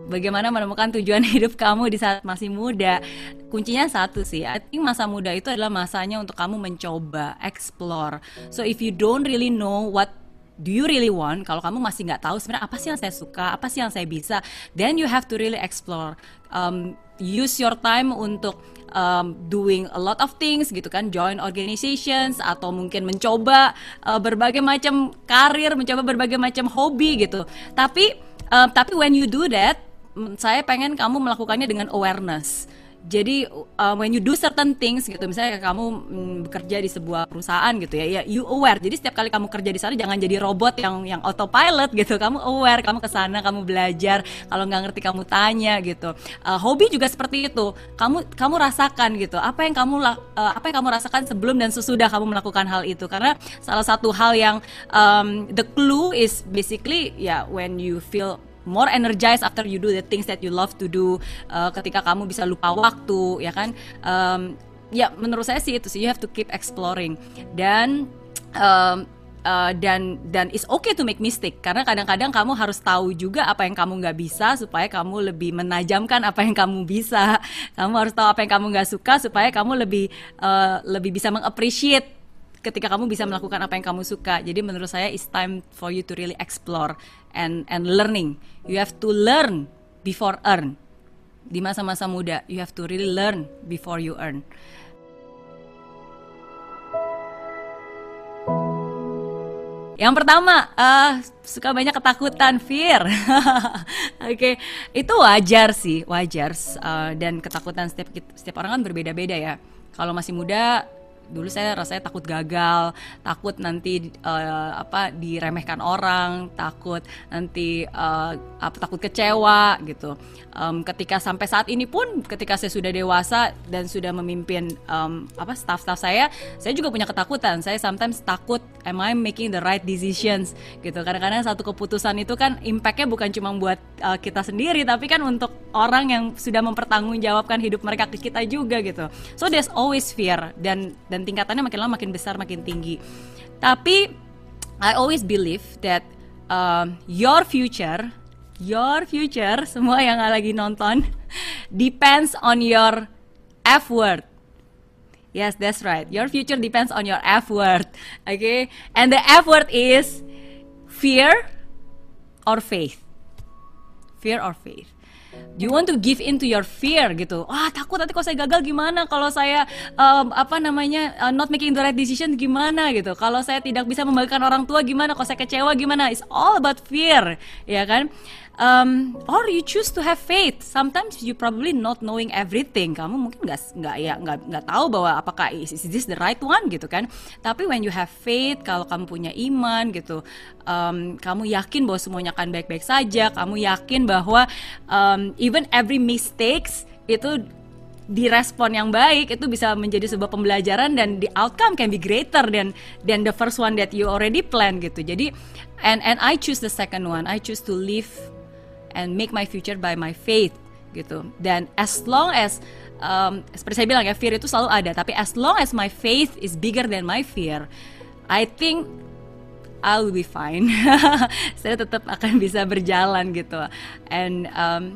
bagaimana menemukan tujuan hidup kamu di saat masih muda. Kuncinya satu sih, I think masa muda itu adalah masanya untuk kamu mencoba, explore. So if you don't really know what do you really want, kalau kamu masih nggak tahu sebenarnya apa sih yang saya suka, apa sih yang saya bisa, then you have to really explore. Use your time untuk doing a lot of things gitu kan, join organizations atau mungkin mencoba berbagai macam karir, mencoba berbagai macam hobi gitu. Tapi when you do that, saya pengen kamu melakukannya dengan awareness. Jadi when you do certain things gitu, misalnya kamu bekerja di sebuah perusahaan gitu ya, you aware. Jadi setiap kali kamu kerja di sana jangan jadi robot yang autopilot gitu. Kamu aware, kamu kesana, kamu belajar. Kalau nggak ngerti kamu tanya gitu. Hobi juga seperti itu. Kamu rasakan gitu. Apa yang kamu rasakan sebelum dan sesudah kamu melakukan hal itu. Karena salah satu hal yang the clue is basically when you feel more energized after you do the things that you love to do, ketika kamu bisa lupa waktu, ya kan? Menurut saya sih itu sih, you have to keep exploring dan it's okay to make mistake, karena kadang-kadang kamu harus tahu juga apa yang kamu nggak bisa supaya kamu lebih menajamkan apa yang kamu bisa. Kamu harus tahu apa yang kamu nggak suka supaya kamu lebih bisa mengappreciate ketika kamu bisa melakukan apa yang kamu suka. Jadi menurut saya it's time for you to really explore and learning. You have to learn before earn. Di masa-masa muda, you have to really learn before you earn. Yang pertama, suka banyak ketakutan, fear. Oke, itu wajar sih, wajar. Dan ketakutan setiap orang kan berbeda-beda ya. Kalau masih muda, dulu saya rasanya takut gagal, takut nanti diremehkan orang, takut nanti takut kecewa gitu. Ketika sampai saat ini pun, ketika saya sudah dewasa dan sudah memimpin staff-staff saya juga punya ketakutan. Saya sometimes takut, am I making the right decisions gitu. Kadang-kadang satu keputusan itu kan impact-nya bukan cuma buat kita sendiri, tapi kan untuk orang yang sudah mempertanggungjawabkan hidup mereka ke kita juga gitu. So there's always fear dan tingkatannya makin lama makin besar, makin tinggi. Tapi I always believe that your future, semua yang lagi nonton, depends on your effort. Yes, that's right. Your future depends on your effort. Okay? And the effort is fear or faith. Fear or faith. Do you want to give in to your fear gitu? Takut nanti kalau saya gagal gimana? Kalau saya not making the right decision gimana gitu? Kalau saya tidak bisa membagikan orang tua gimana? Kalau saya kecewa gimana? It's all about fear, ya kan? Or you choose to have faith. Sometimes you probably not knowing everything. Kamu mungkin nggak tahu bahwa apakah is this the right one gitu kan? Tapi when you have faith, kalau kamu punya iman gitu, kamu yakin bahwa semuanya akan baik-baik saja. Kamu yakin bahwa even every mistakes itu direspon yang baik, itu bisa menjadi sebuah pembelajaran dan the outcome can be greater than the first one that you already plan gitu. Jadi and I choose the second one. I choose to live and make my future by my faith gitu. Dan as long as seperti saya bilang ya, fear itu selalu ada, tapi as long as my faith is bigger than my fear, I think I'll be fine. Saya tetap akan bisa berjalan gitu. And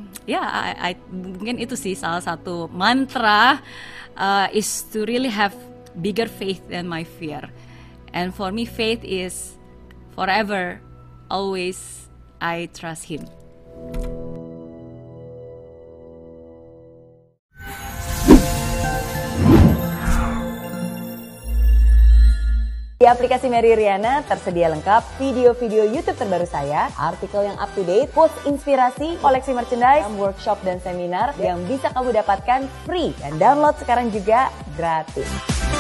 I mungkin itu sih salah satu mantra, is to really have bigger faith than my fear. And for me, faith is forever, always, I trust Him. Di aplikasi Mary Riana tersedia lengkap video-video YouTube terbaru saya, artikel yang up to date, post inspirasi, koleksi merchandise, workshop dan seminar yang bisa kamu dapatkan free dan download sekarang juga gratis.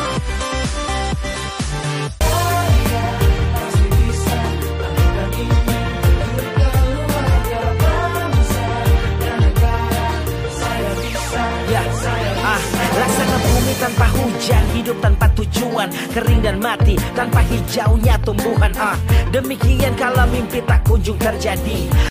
Laksana bumi tanpa hujan, hidup tanpa tujuan, kering dan mati tanpa hijaunya tumbuhan. Demikian kalau mimpi tak kunjung terjadi.